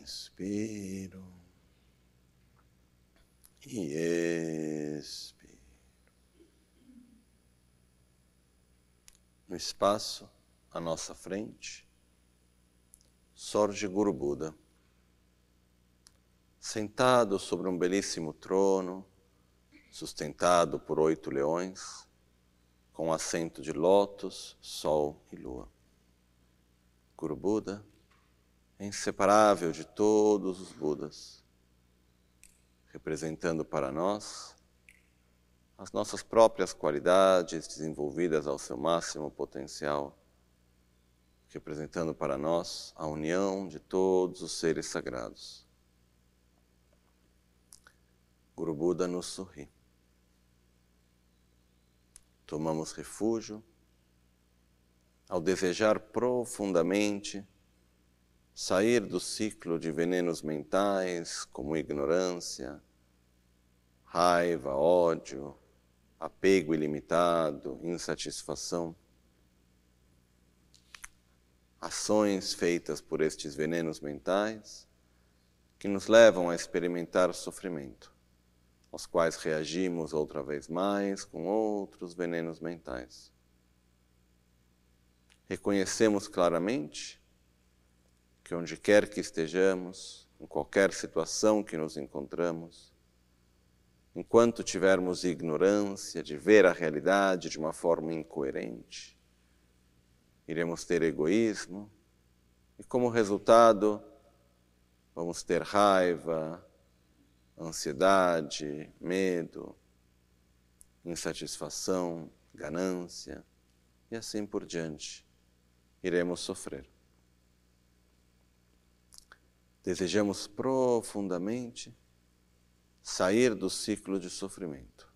Inspiro e expiro. No espaço à nossa frente, sorge Guru Buda, sentado sobre um belíssimo trono, sustentado por 8 leões, com assento de lótus, sol e lua. Guru Buda é inseparável de todos os Budas, representando para nós as nossas próprias qualidades desenvolvidas ao seu máximo potencial, representando para nós a união de todos os seres sagrados. Guru Buda nos sorri. Tomamos refúgio ao desejar profundamente sair do ciclo de venenos mentais como ignorância, raiva, ódio, apego ilimitado, insatisfação. Ações feitas por estes venenos mentais que nos levam a experimentar sofrimento, aos quais reagimos outra vez mais com outros venenos mentais. Reconhecemos claramente que onde quer que estejamos, em qualquer situação que nos encontramos, enquanto tivermos ignorância de ver a realidade de uma forma incoerente, iremos ter egoísmo e, como resultado, vamos ter raiva, ansiedade, medo, insatisfação, ganância e assim por diante. Iremos sofrer. Desejamos profundamente sair do ciclo de sofrimento.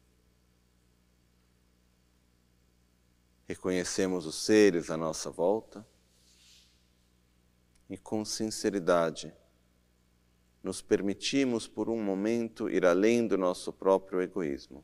Reconhecemos os seres à nossa volta e, com sinceridade, nos permitimos por um momento ir além do nosso próprio egoísmo.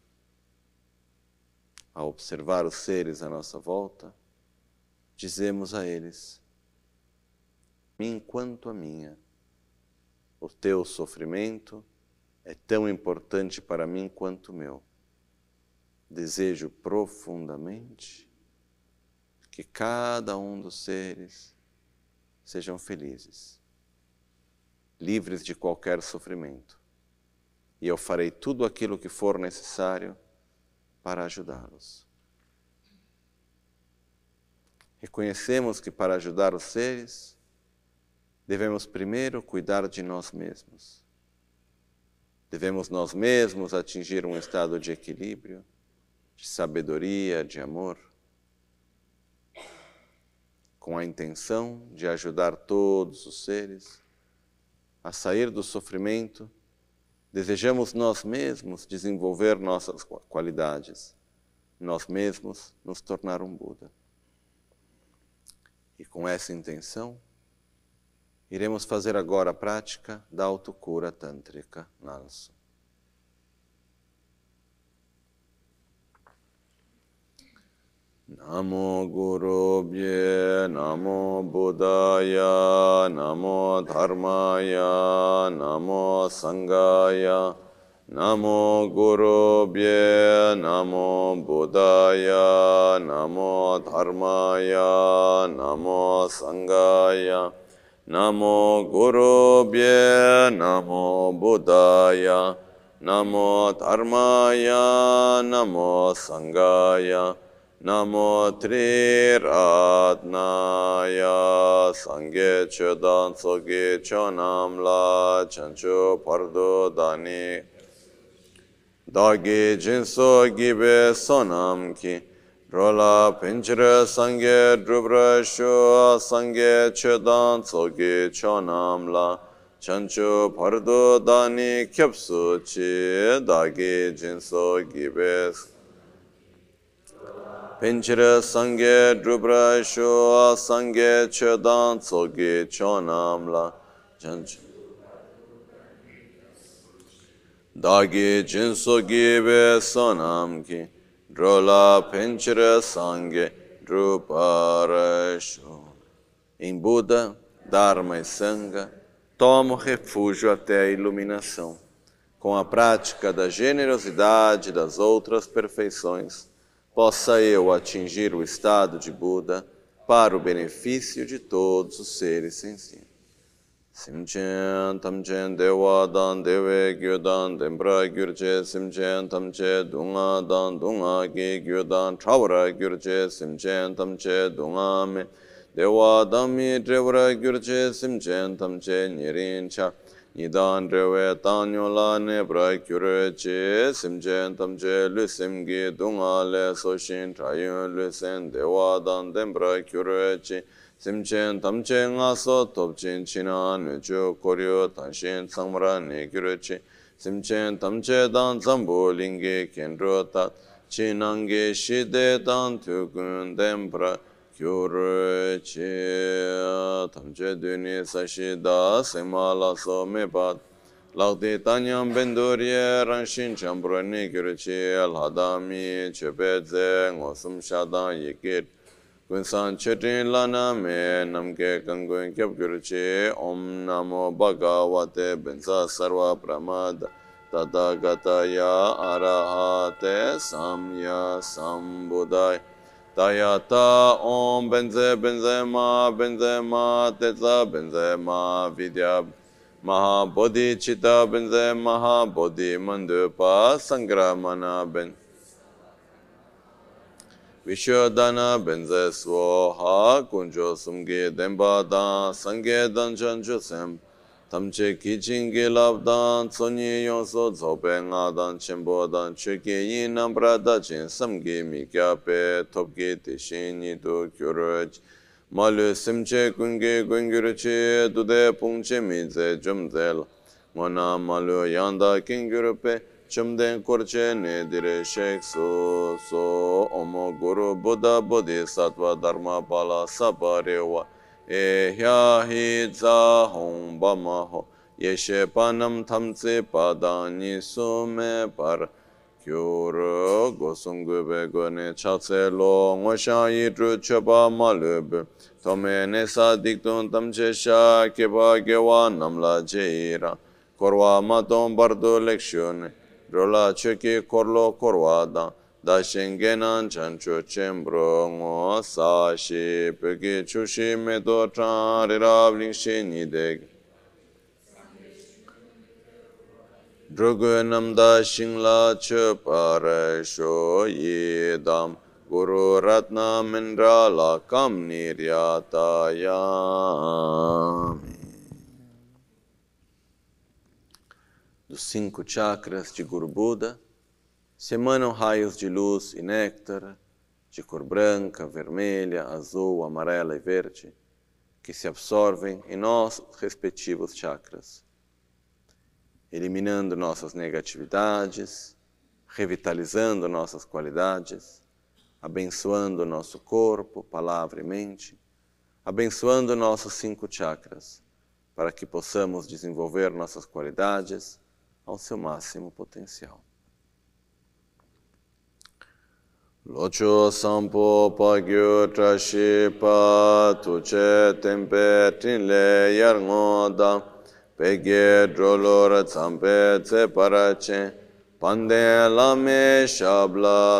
Ao observar os seres à nossa volta, dizemos a eles: "Mim quanto a minha, o teu sofrimento é tão importante para mim quanto o meu. Desejo profundamente que cada um dos seres sejam felizes, livres de qualquer sofrimento, e eu farei tudo aquilo que for necessário para ajudá-los." Reconhecemos que para ajudar os seres, devemos primeiro cuidar de nós mesmos. Devemos nós mesmos atingir um estado de equilíbrio, de sabedoria, de amor, com a intenção de ajudar todos os seres a sair do sofrimento. Desejamos nós mesmos desenvolver nossas qualidades, nós mesmos nos tornar um Buda. E com essa intenção, iremos fazer agora a prática da autocura tântrica Nalso. Namo Gurubhye, Namo Buddhaya, Namo Dharmaya, Namo Sanghaya, Namo Gurubhye, Namo Buddhaya, Namo Dharmaya, Namo Sanghaya, Namo Gurubhye, Namo Buddhaya, Namo Dharmaya, Namo Sanghaya, Namo Tri Ratnaya, Sangye Chodan Sogi Chonam La Chanchu Pardo Dani Dagi Jinso Gibe Sonam Ki Rola Pinchira Sangye Drubra Shua Sangye Chodan Sogi Chonam La Chanchu Pardo Dani Kyapsu Chi Dagi Jinso Gibe Pinchira Sangye Drubra Shua Sangye Chodan Sogi Chonam La Chanchu Dagi Jinso Gibe Sonam Ki Drola Pinchira Sangye Drupara Shua. Em Buda, Dharma e Sangha, tomo refúgio até a iluminação. Com a prática da generosidade e das outras perfeições, possa eu atingir o estado de Buda para o benefício de todos os seres sensíveis. Simchen tamchen dewa dan dewe gyu dan dembra gyurche simchen tamche dunga dan dunga gi gyu dan trawara gyurche simchen tamche dunga me dewa dan mi drewara gyurche simchen tamche nirin cha nidan drewe tanyo la nebra gyurche simchen tamche lusim gi dunga le soshin trayun lusen dewa dan dembra gyurche simchen tamche ngaso topchin china nujo koryo tanshin samra nekyuruchi simchen tamche dan zambu lingi kendro tat chinangi shide dan tukun dembra kyuruchi tamche duni sashida semala so mepat lakdi tanyam bendurye ranshin chambro nekyuruchi alhadami chepeze ngosum shadan yikit Gunsan Chetin Lana Me Namke Kangun Kyab Gyurchi Om Namo Bhagavate Bensa Sarva Pramada Tadagataya Arahate Samya Sambuddhaya Tayata Om Benze Benzema Tetsa Benzema Vidya Maha Bodhi Chitta Benze Maha Bodhi Mandupa Sangramana Ben Vishodana benze swaha kunjo sumge demba dan sange dan chancho sem tamche kichinge labdan tsonye yonso zobe nga dan chenpo dan cheke yin nambra da chen samge mikya pe topge tishin nido kyuroj malu simche kunge gungyurche dude pungche mize jumzel ngona malu yanda kingyurpe Chumden korche ne dire shek so omo guru buddha bodhisattva dharma pala saparewa hya hi za hong bama ho yeshe panam tamtse padani sume par kyoro gosungu begone chatse lo ngosha yidru choba malube tome nesa diktun tamche sha keba gewa namla jeira korwa maton bardo lekshione Rola cheki korlo korwada da shengenan chancho chembro ngo sa shi peki chushi medo chan rirab lingshi nideg Drogo namda shingla chupare sho yidam Guru ratna mindra la kam niryata yami Dos 5 chakras de Guru Buda, se emanam raios de luz e néctar, de cor branca, vermelha, azul, amarela e verde, que se absorvem em nossos respectivos chakras, eliminando nossas negatividades, revitalizando nossas qualidades, abençoando nosso corpo, palavra e mente, abençoando nossos 5 chakras, para que possamos desenvolver nossas qualidades ao seu máximo potencial. Locho sampo pagyo trashi pa tuche tempe trinle yarngoda pegye drolora tsampe tse parache pande lame shabla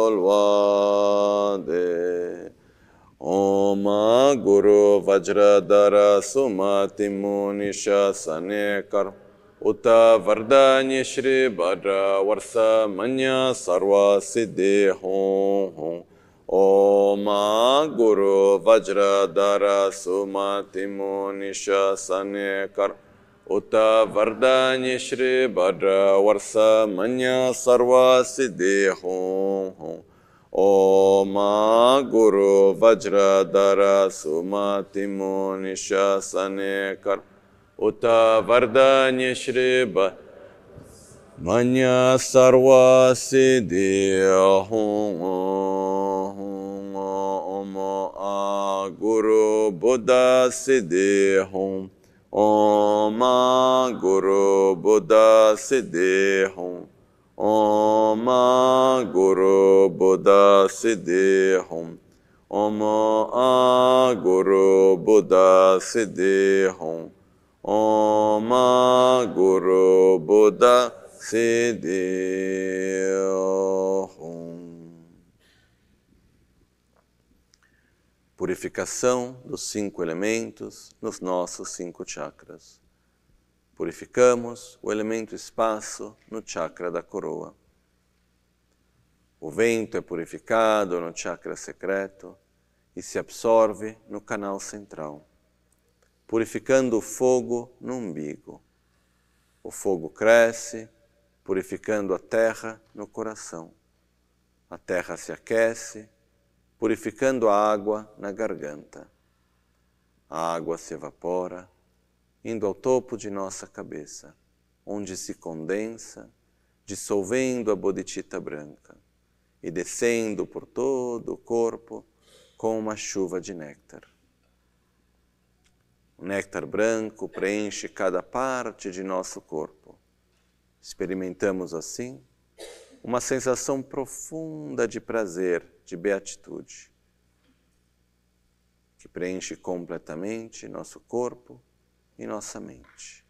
solvade Om Guru Vajradhara Sumati Munisha Sanekar Uta Vardanya Shri Bhadra Varsa Manya Sarva Siddhi Hong Om Guru Vajradhara Sumati Munisha Sanekar Uta Vardanya Shri Bhadra Varsa Manya Sarva Siddhi Hong Om Guru Vajradhara Sumati Munisha Sanekar Uta Vardanya Shri Manya Sarva Siddhi Hong Om Guru Buddha Siddhi Hong Om Guru Buddha Siddhi Hong Om Guru Buddha Siddhi Hong Om Guru Buddha Siddhi Hong Om Guru Buddha Siddhi Om. Purificação dos 5 elementos nos nossos 5 chakras. Purificamos o elemento espaço no chakra da coroa. O vento é purificado no chakra secreto e se absorve no canal central, purificando o fogo no umbigo. O fogo cresce, purificando a terra no coração. A terra se aquece, purificando a água na garganta. A água se evapora, indo ao topo de nossa cabeça, onde se condensa, dissolvendo a bodhicitta branca e descendo por todo o corpo com uma chuva de néctar. O néctar branco preenche cada parte de nosso corpo. Experimentamos assim uma sensação profunda de prazer, de beatitude, que preenche completamente nosso corpo e nossa mente.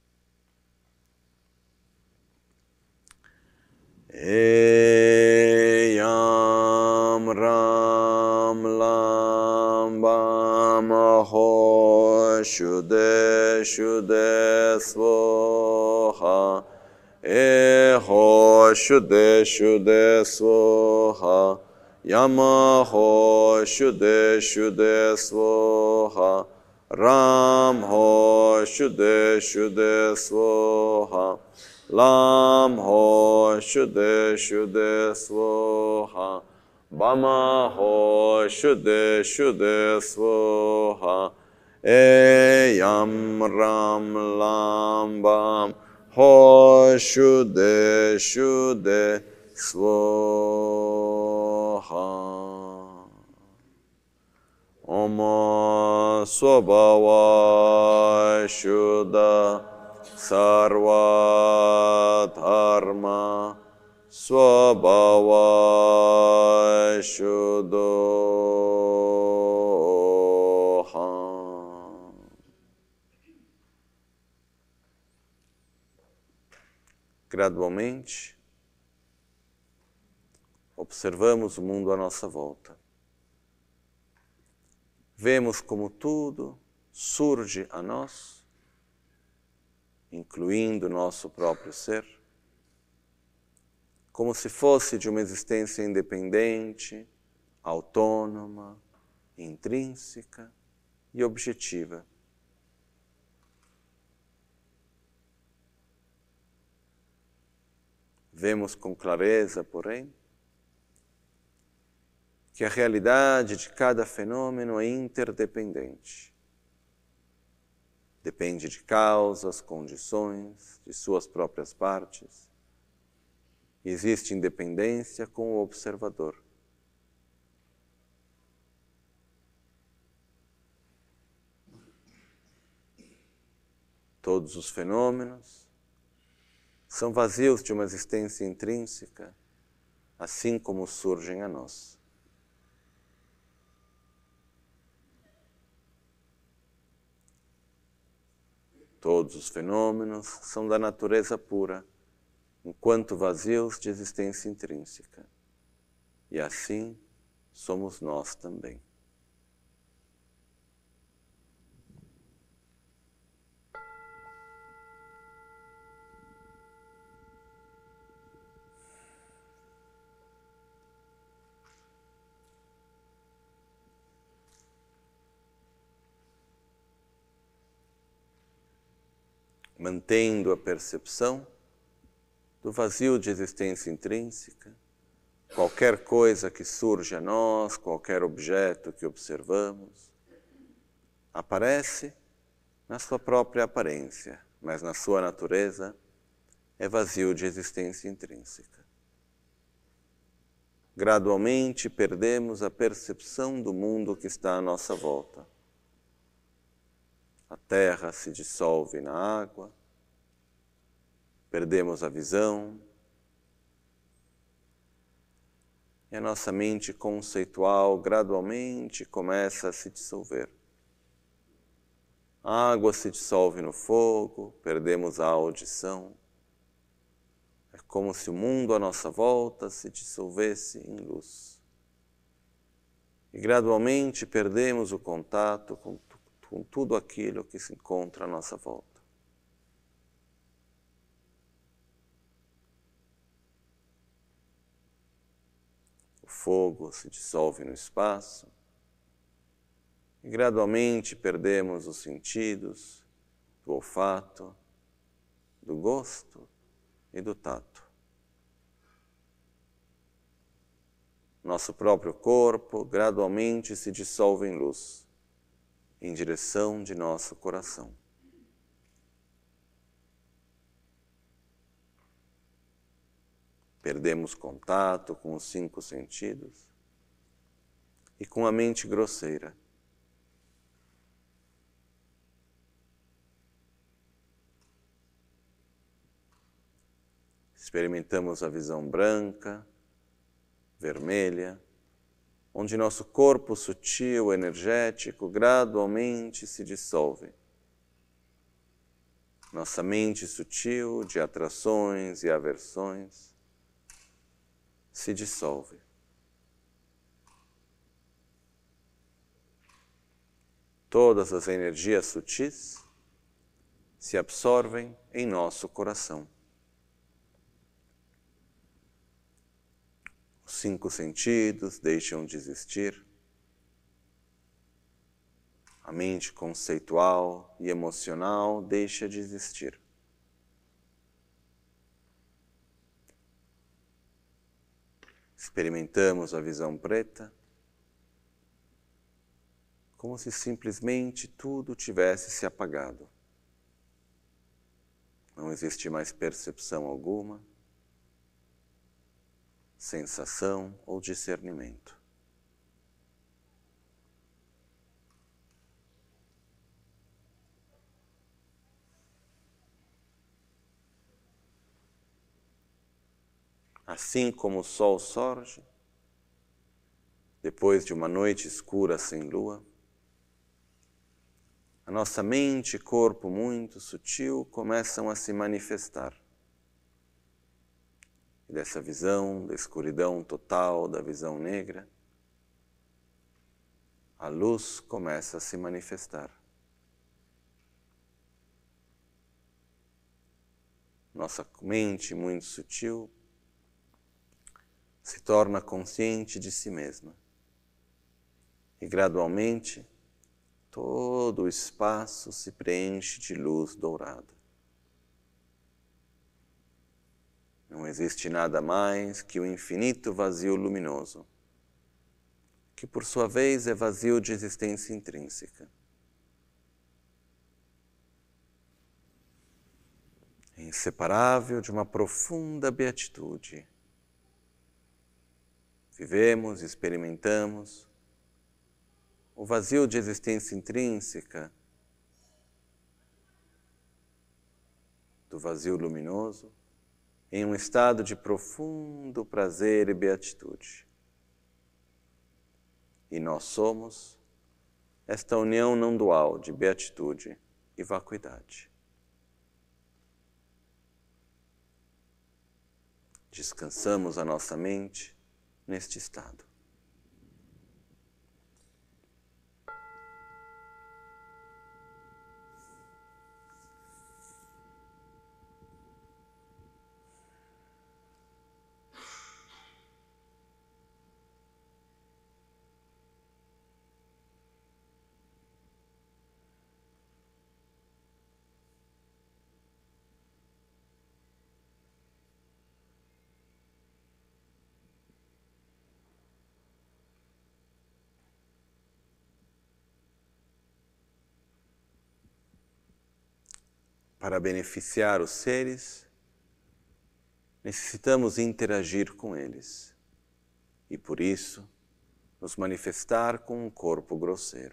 Eyam Ram Lam Bam Ho Shude Shude Svoha Ho Shude Shude Svoha Yama Ho Shude Shude Svoha Ram Ho Shude Shude Svoha Lam Ho Shude Shude Svoha Bama Ho Shude Shude Svoha Eyam Ram Lam Bam Ho Shude Shude Svoha. Om Swabhava Shuddha Sarva Dharma Swabhava Shuddhoham. Gradualmente, observamos o mundo à nossa volta. Vemos como tudo surge a nós, incluindo nosso próprio ser, como se fosse de uma existência independente, autônoma, intrínseca e objetiva. Vemos com clareza, porém, que a realidade de cada fenômeno é interdependente. Depende de causas, condições, de suas próprias partes. E existe independência com o observador. Todos os fenômenos são vazios de uma existência intrínseca, assim como surgem a nós. Todos os fenômenos são da natureza pura, enquanto vazios de existência intrínseca. E assim somos nós também. Mantendo a percepção do vazio de existência intrínseca, qualquer coisa que surge a nós, qualquer objeto que observamos, aparece na sua própria aparência, mas na sua natureza é vazio de existência intrínseca. Gradualmente perdemos a percepção do mundo que está à nossa volta. A terra se dissolve na água, perdemos a visão, e a nossa mente conceitual gradualmente começa a se dissolver. A água se dissolve no fogo, perdemos a audição. É como se o mundo à nossa volta se dissolvesse em luz. E gradualmente perdemos o contato com tudo aquilo que se encontra à nossa volta. O fogo se dissolve no espaço e gradualmente perdemos os sentidos do olfato, do gosto e do tato. Nosso próprio corpo gradualmente se dissolve em luz, em direção de nosso coração. Perdemos contato com os 5 sentidos e com a mente grosseira. Experimentamos a visão branca, vermelha, onde nosso corpo sutil, energético, gradualmente se dissolve. Nossa mente sutil de atrações e aversões se dissolve. Todas as energias sutis se absorvem em nosso coração. Os 5 sentidos deixam de existir. A mente conceitual e emocional deixa de existir. Experimentamos a visão preta, como se simplesmente tudo tivesse se apagado. Não existe mais percepção alguma, sensação ou discernimento. Assim como o sol surge, depois de uma noite escura sem lua, a nossa mente e corpo muito sutil começam a se manifestar. E dessa visão, da escuridão total, da visão negra, a luz começa a se manifestar. Nossa mente muito sutil se torna consciente de si mesma. E gradualmente, todo o espaço se preenche de luz dourada. Não existe nada mais que o infinito vazio luminoso, que por sua vez é vazio de existência intrínseca. É inseparável de uma profunda beatitude. Vivemos e experimentamos o vazio de existência intrínseca do vazio luminoso em um estado de profundo prazer e beatitude. E nós somos esta união não dual de beatitude e vacuidade. Descansamos a nossa mente neste estado. Para beneficiar os seres, necessitamos interagir com eles e, por isso, nos manifestar com um corpo grosseiro.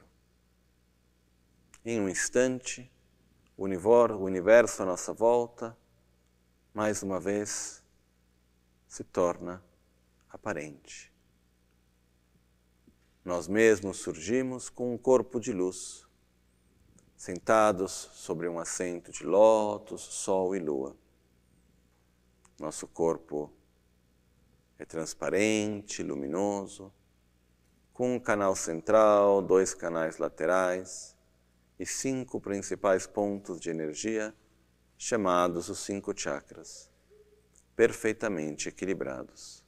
Em um instante, o universo à nossa volta, mais uma vez, se torna aparente. Nós mesmos surgimos com um corpo de luz, sentados sobre um assento de lótus, sol e lua. Nosso corpo é transparente, luminoso, com um canal central, 2 canais laterais e 5 principais pontos de energia, chamados os 5 chakras, perfeitamente equilibrados.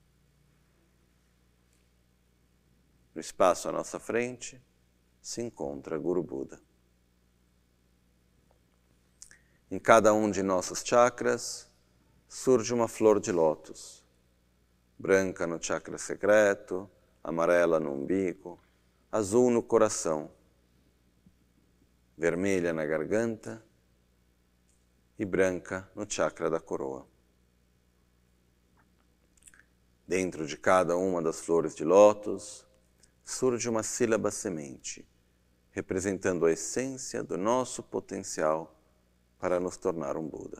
No espaço à nossa frente se encontra Guru Buda. Em cada um de nossos chakras surge uma flor de lótus, branca no chakra secreto, amarela no umbigo, azul no coração, vermelha na garganta e branca no chakra da coroa. Dentro de cada uma das flores de lótus surge uma sílaba semente, representando a essência do nosso potencial para nos tornar um Buda.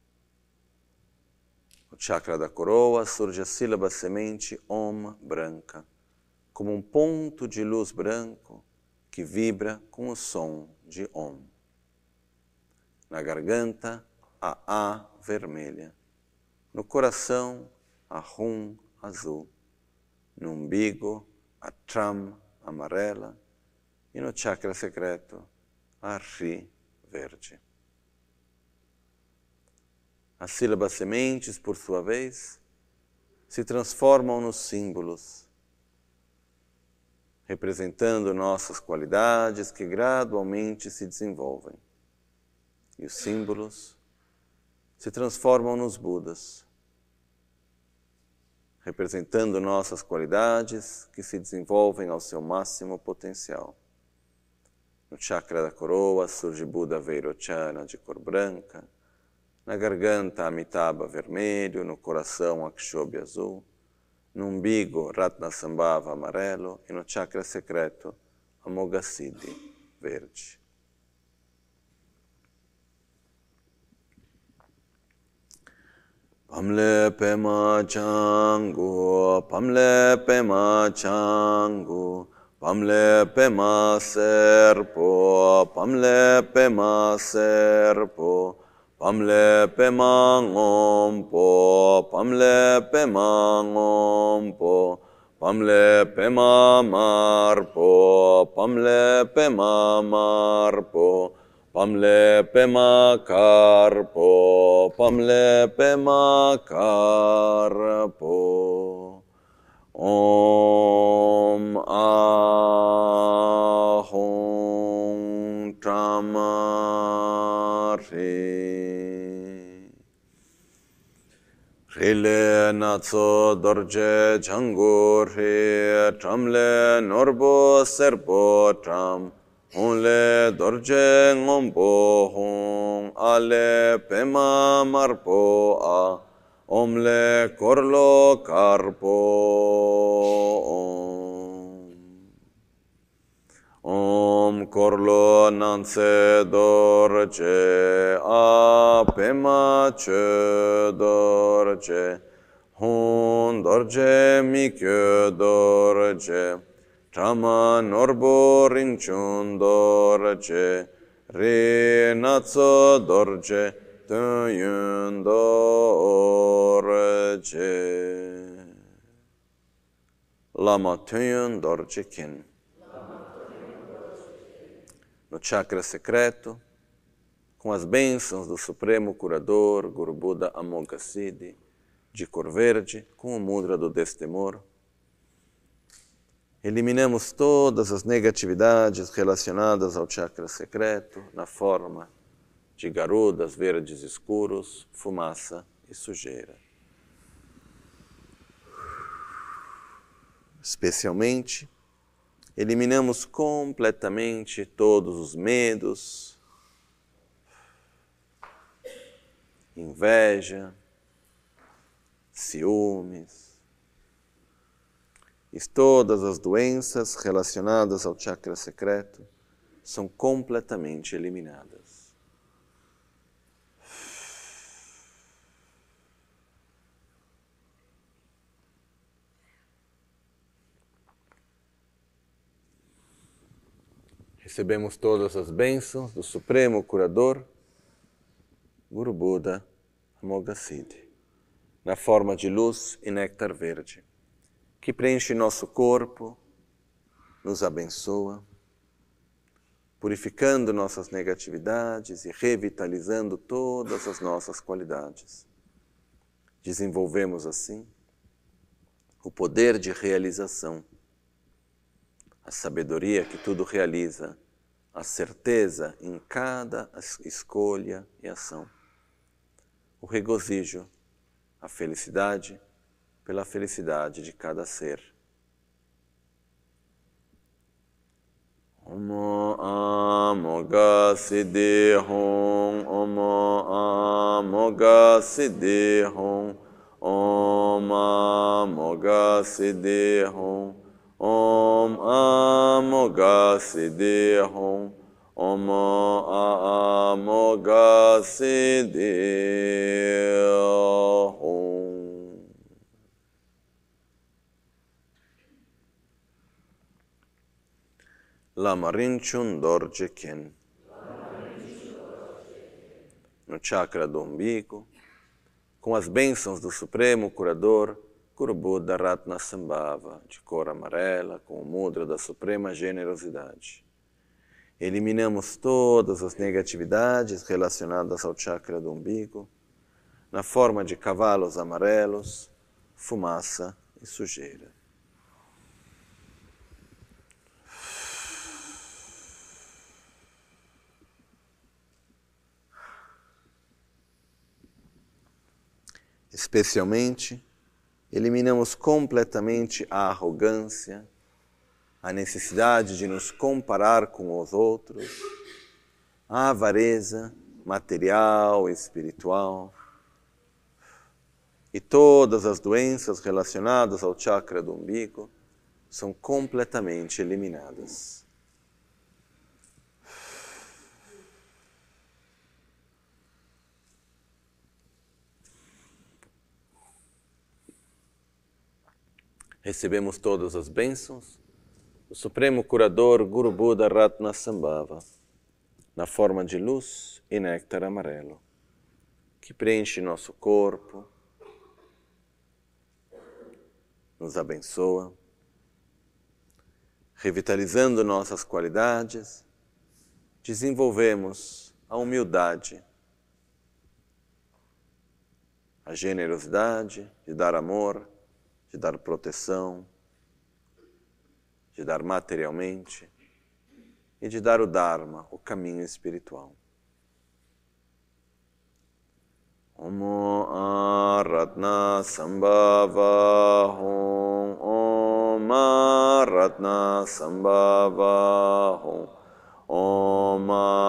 No chakra da coroa surge a sílaba semente Om branca, como um ponto de luz branco que vibra com o som de Om. Na garganta, a A vermelha. No coração, a Hum azul. No umbigo, a Tram amarela. E no chakra secreto, a Ri verde. As sílabas sementes, por sua vez, se transformam nos símbolos, representando nossas qualidades que gradualmente se desenvolvem. E os símbolos se transformam nos Budas, representando nossas qualidades que se desenvolvem ao seu máximo potencial. No chakra da coroa surge Buda Vairochana de cor branca, na garganta Amitabha vermelho, no coração Akshobhya azul, no umbigo Ratnasambhava amarelo e no chakra secreto Amoghasiddhi verde. Pamle Pema Changu, Pamle Pema Changu, Pamle Pema Serpo, Pamle Pema Serpo, Pamle Pema Ngompo, Pamle Pema Ngompo, Pamle Pema Marpo, Pamle Pema Marpo, Pamle Pema Karpo, Pamle Pema Karpo. Om Ahum Tamari. Rile Natso Dorje Changur He Tramle Norbo Serpo Tram Onle Dorje Ngombo Hong Ale Pema Marpo A Omle Korlo Karpo Om Korlo Nanse Dorje A Pema Che Dorje Hon Dorje Mikyo Dorje Trama Norbo Rinchun Dorje Re Natso Dorje Töyün Dorje Lama Töyün Dorje Kin. No chakra secreto, com as bênçãos do Supremo Curador, Guru Buda Amoghasiddhi, de cor verde, com o mudra do destemor, eliminamos todas as negatividades relacionadas ao chakra secreto na forma de garudas verdes escuros, fumaça e sujeira. Especialmente, eliminamos completamente todos os medos, inveja, ciúmes e todas as doenças relacionadas ao chakra secreto são completamente eliminadas. Recebemos todas as bênçãos do Supremo Curador, Guru Buda Amoghasiddhi, na forma de luz e néctar verde, que preenche nosso corpo, nos abençoa, purificando nossas negatividades e revitalizando todas as nossas qualidades. Desenvolvemos assim o poder de realização, a sabedoria que tudo realiza, a certeza em cada escolha e ação, o regozijo, a felicidade pela felicidade de cada ser. Om Amoghasiddhi Om, Om Amoghasiddhi Om, Om Amoghasiddhi Om, Om Amoghasiddhi Om, Om Amoghasiddhi Om. Lama Rinpoche Dorje Khen. No chakra do umbigo, com as bênçãos do Supremo Curador, Guru Buda Ratnasambhava, de cor amarela, com o mudra da Suprema Generosidade. Eliminamos todas as negatividades relacionadas ao chakra do umbigo, na forma de cavalos amarelos, fumaça e sujeira. Especialmente, eliminamos completamente a arrogância, a necessidade de nos comparar com os outros, a avareza material e espiritual, e todas as doenças relacionadas ao chakra do umbigo são completamente eliminadas. Recebemos todas as bênçãos do Supremo Curador Guru Buda Ratnasambhava, na forma de luz e néctar amarelo, que preenche nosso corpo, nos abençoa, revitalizando nossas qualidades, desenvolvemos a humildade, a generosidade de dar amor, de dar proteção, de dar materialmente e de dar o Dharma, o caminho espiritual. Om Ratnasambhava Om, Om Ratnasambhava Om, Om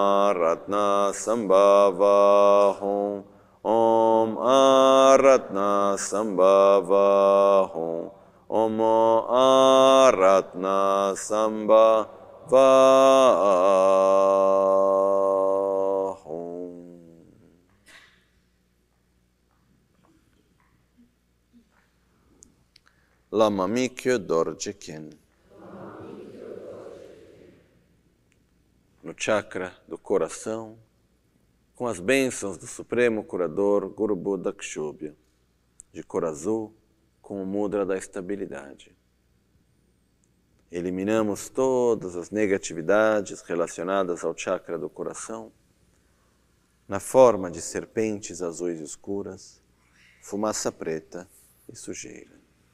Ratnasambhava Om, Om Ratnasambhava Om, Om Ratnasambhava Om. Lama Mikyo Dorje Khen. No chakra do coração, com as bênçãos do Supremo Curador Guru Buda Kshobhya, de cor azul, com o mudra da estabilidade. Eliminamos todas as negatividades relacionadas ao chakra do coração, na forma de serpentes azuis escuras, fumaça preta e sujeira.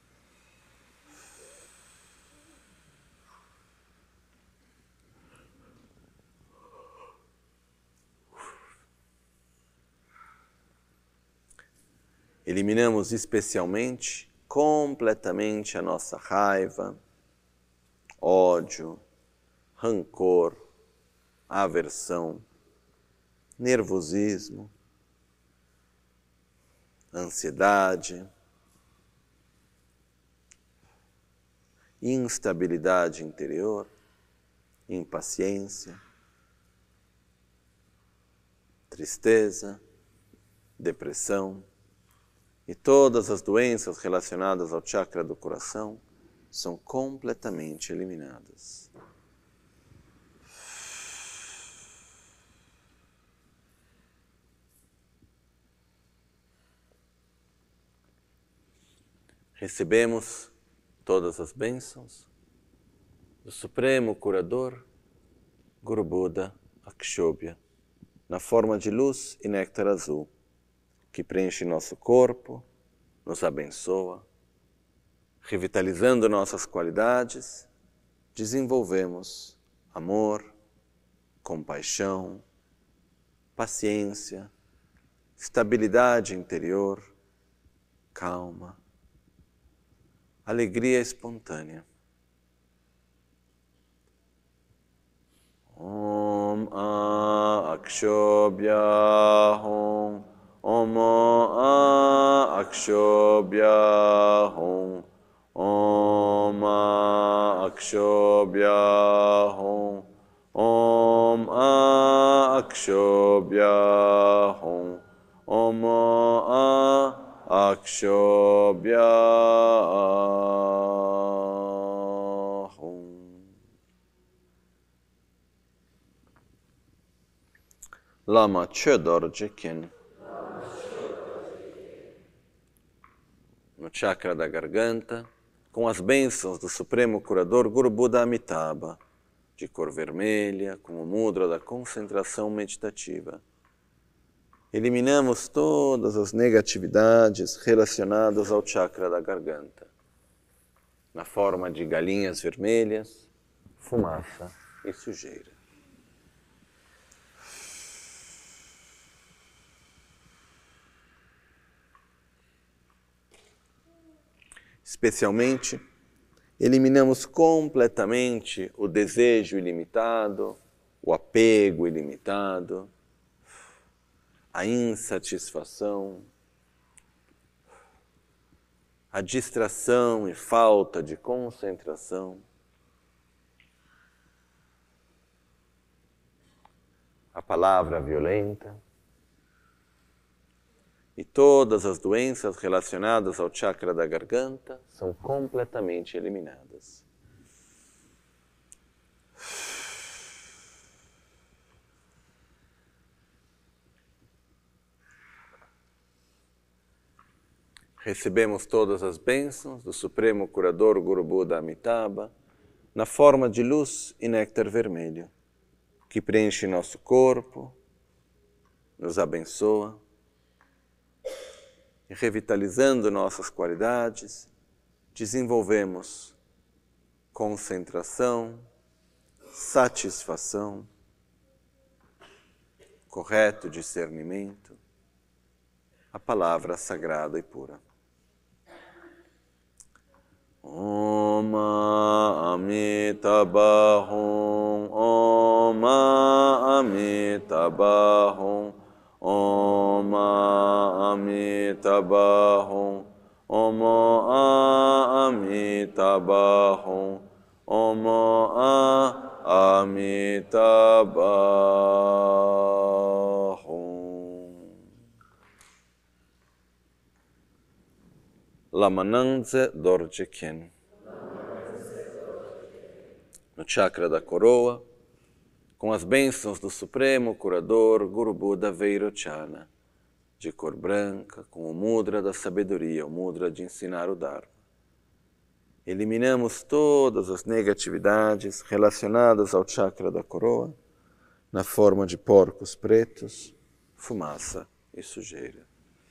Eliminamos especialmente, completamente a nossa raiva, ódio, rancor, aversão, nervosismo, ansiedade, instabilidade interior, impaciência, tristeza, depressão e todas as doenças relacionadas ao chakra do coração são completamente eliminadas. Recebemos todas as bênçãos do Supremo Curador, Guru Buda Akshobhya, na forma de luz e néctar azul, que preenche nosso corpo, nos abençoa, revitalizando nossas qualidades, desenvolvemos amor, compaixão, paciência, estabilidade interior, calma, alegria espontânea. Om Akshobhya Hum, Om Akshobhya Hum, Om Akshobhya Hum, Om Akshobhya Hum, Om Akshobhya Hum. Lama Chodorje Kyen. No chakra da garganta, com as bênçãos do Supremo Curador Guru Buda Amitabha, de cor vermelha, como mudra da concentração meditativa. Eliminamos todas as negatividades relacionadas ao chakra da garganta, na forma de galinhas vermelhas, fumaça e sujeira. Especialmente, eliminamos completamente o desejo ilimitado, o apego ilimitado, a insatisfação, a distração e falta de concentração, a palavra violenta e todas as doenças relacionadas ao chakra da garganta são completamente eliminadas. Recebemos todas as bênçãos do Supremo Curador Guru Buda Amitabha na forma de luz e néctar vermelho, que preenche nosso corpo, nos abençoa, e revitalizando nossas qualidades, desenvolvemos concentração, satisfação, correto discernimento, a palavra sagrada e pura. Om Amitabha Hum, Om Amitabha Hum, Om Amitabha Hum, Om Amitabha Hum, Om Amitabha Hum. Lamananze Dorje Kyen. No chakra da coroa, com as bênçãos do Supremo Curador Guru Buda Vairochana, de cor branca, com o mudra da sabedoria, o mudra de ensinar o Dharma. Eliminamos todas as negatividades relacionadas ao chakra da coroa, na forma de porcos pretos, fumaça e sujeira.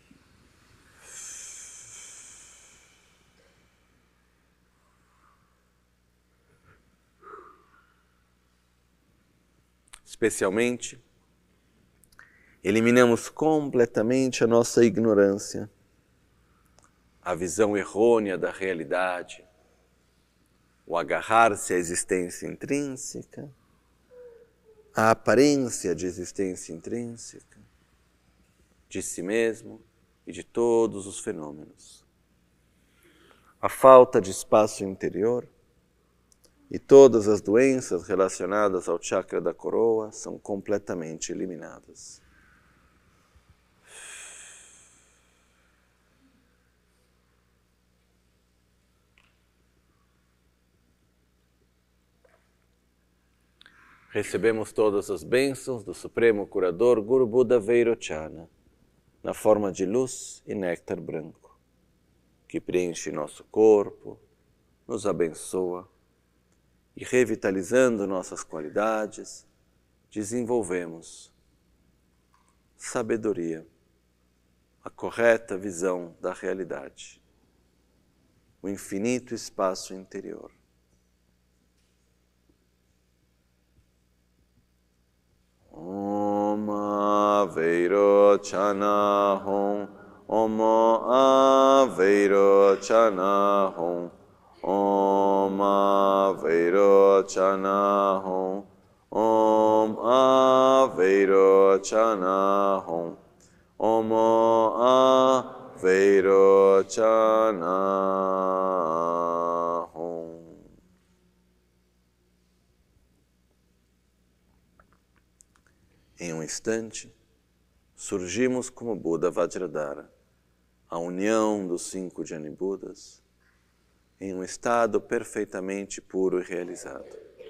Especialmente, eliminamos completamente a nossa ignorância, a visão errônea da realidade, o agarrar-se à existência intrínseca, a aparência de existência intrínseca, de si mesmo e de todos os fenômenos. A falta de espaço interior e todas as doenças relacionadas ao chakra da coroa são completamente eliminadas. Recebemos todas as bênçãos do Supremo Curador Guru Buda Vairochana, na forma de luz e néctar branco, que preenche nosso corpo, nos abençoa e, revitalizando nossas qualidades, desenvolvemos sabedoria, a correta visão da realidade, o infinito espaço interior. Om Aveirochana Hum, Om Aveirochana Hum, Om Aveirochana Hum, Om Aveirochana Hum, Om Aveirochana Hum. Em um instante, surgimos como Buda Vajradhara, a união dos 5 Jnani-Budas, em um estado perfeitamente puro e realizado.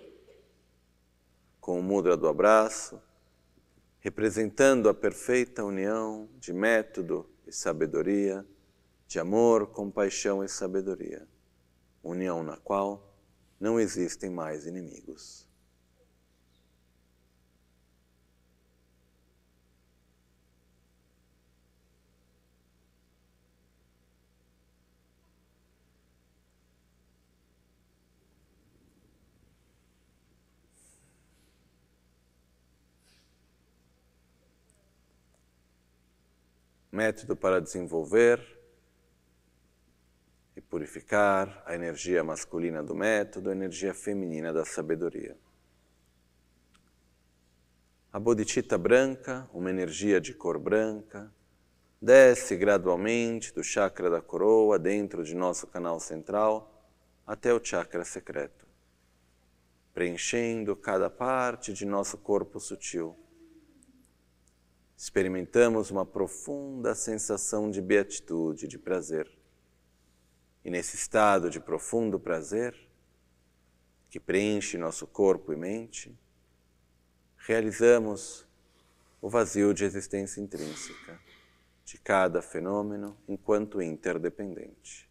Com o mudra do abraço, representando a perfeita união de método e sabedoria, de amor, compaixão e sabedoria, união na qual não existem mais inimigos. Método para desenvolver e purificar a energia masculina do método, a energia feminina da sabedoria. A bodhicitta branca, uma energia de cor branca, desce gradualmente do chakra da coroa dentro de nosso canal central até o chakra secreto, preenchendo cada parte de nosso corpo sutil. Experimentamos uma profunda sensação de beatitude, de prazer. E nesse estado de profundo prazer, que preenche nosso corpo e mente, realizamos o vazio de existência intrínseca de cada fenômeno enquanto interdependente.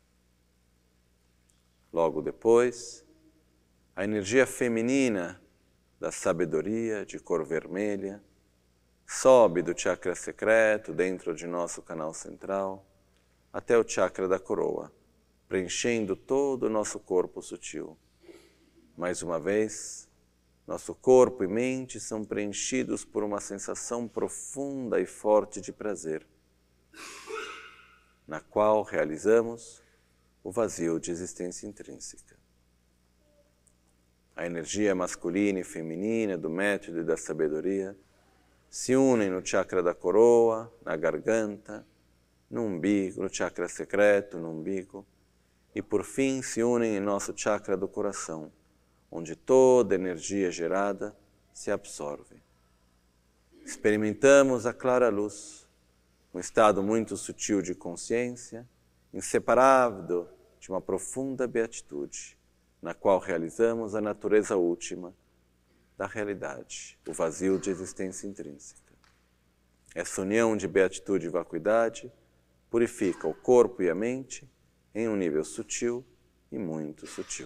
Logo depois, a energia feminina da sabedoria de cor vermelha sobe do chakra secreto dentro de nosso canal central até o chakra da coroa, preenchendo todo o nosso corpo sutil. Mais uma vez, nosso corpo e mente são preenchidos por uma sensação profunda e forte de prazer, na qual realizamos o vazio de existência intrínseca. A energia masculina e feminina do método e da sabedoria se unem no chakra da coroa, na garganta, no umbigo, no chakra secreto, no umbigo, e por fim se unem em nosso chakra do coração, onde toda energia gerada se absorve. Experimentamos a clara luz, um estado muito sutil de consciência, inseparável de uma profunda beatitude, na qual realizamos a natureza última da realidade, o vazio de existência intrínseca. Essa união de beatitude e vacuidade purifica o corpo e a mente em um nível sutil e muito sutil.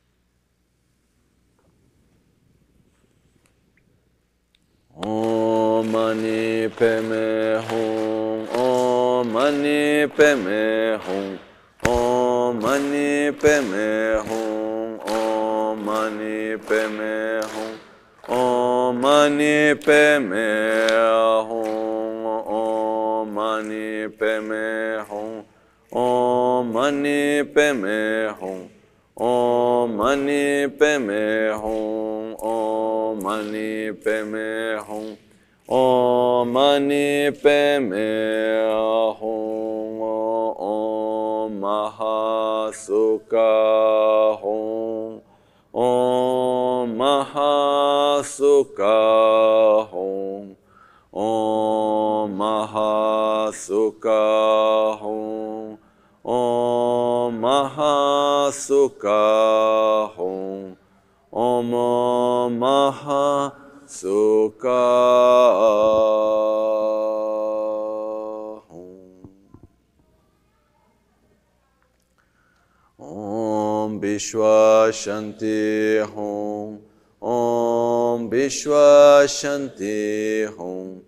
Om Mani Padme Hum, Om Mani Padme Hum, Om Mani Padme Hum, Om Mani Padme Hum, Om Mani Padme Hum, Om Mani Padme Hum, Om Mani Padme Hum, Om Mani Padme Hum, Om Mani Padme Hum, Om Mani Padme Hum, Om Mahasukha Hum, Om Mahasukha Hum, Om Mahasukha Hum, Om Mahasukha Hum, Om Mahasukha Hum. Vishwa Shanti Hum. Om Vishwa Shanti Hum.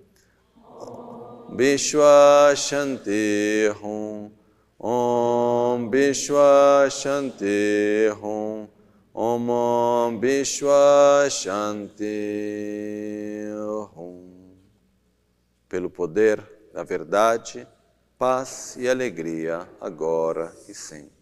Vishwa Shanti Hum. Om Vishwa Shanti Hum. Om Vishwa Shanti Hum. Pelo poder da verdade, paz e alegria, agora e sempre.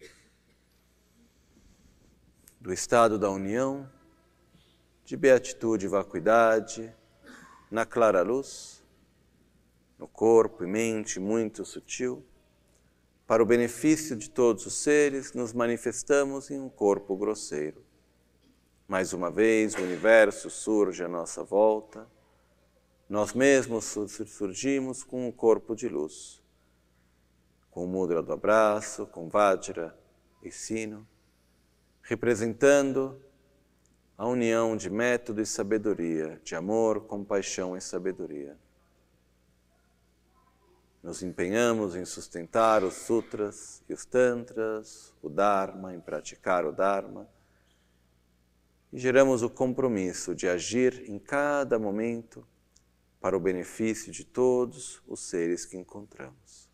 Do estado da união, de beatitude e vacuidade, na clara luz, no corpo e mente muito sutil, para o benefício de todos os seres, nos manifestamos em um corpo grosseiro. Mais uma vez, o universo surge à nossa volta, nós mesmos surgimos com um corpo de luz, com o mudra do abraço, com Vajra e sino, representando a união de método e sabedoria, de amor, compaixão e sabedoria. Nos empenhamos em sustentar os sutras e os tantras, o Dharma, em praticar o Dharma, e geramos o compromisso de agir em cada momento para o benefício de todos os seres que encontramos.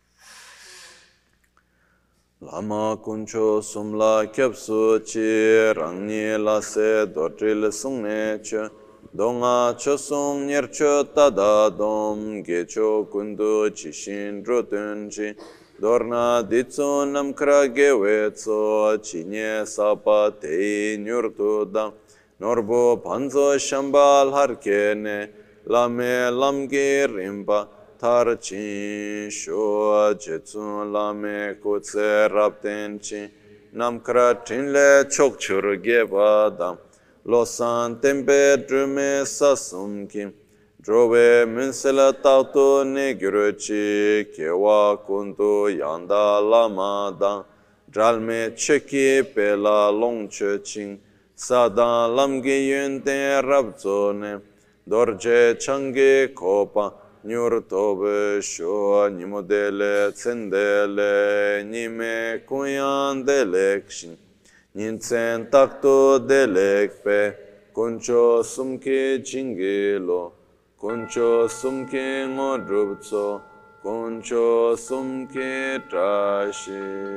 Lama kuncho sumla kyapsu chi rangni la se dorjil sungne che Donga chosung nyercho tadadom gecho kundu chishin rotunchi Dorna ditsu namkra gewetso chinye sapa tei nyurtudam Norbo panzo shambal harkene lame lamge rimba tarchin sho jetsu lame kutse raptenchi Namkra tinle chokchur gebadam Losan tempe drume sasum kim Drove munsela tauto ne gyuruchi Kewa kundu yanda lamadan Dralme cheki pela longche ching Sadan lamge yunten rabzone Dorje change kopa Nyur tobe sho nimodele tsendele Nime kuyan delekshin Nintsen takto delekpe, kuncho sumke jingelo, kuncho sumke ngodrupso, kuncho sumke trashisho.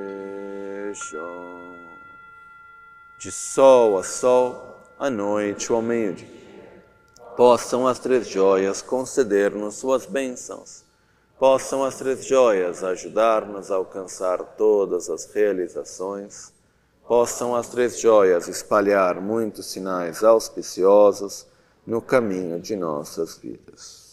De sol a sol, à noite ou ao meio-dia, possam as três joias conceder-nos suas bênçãos, possam as três joias ajudar-nos a alcançar todas as realizações, possam as três joias espalhar muitos sinais auspiciosos no caminho de nossas vidas.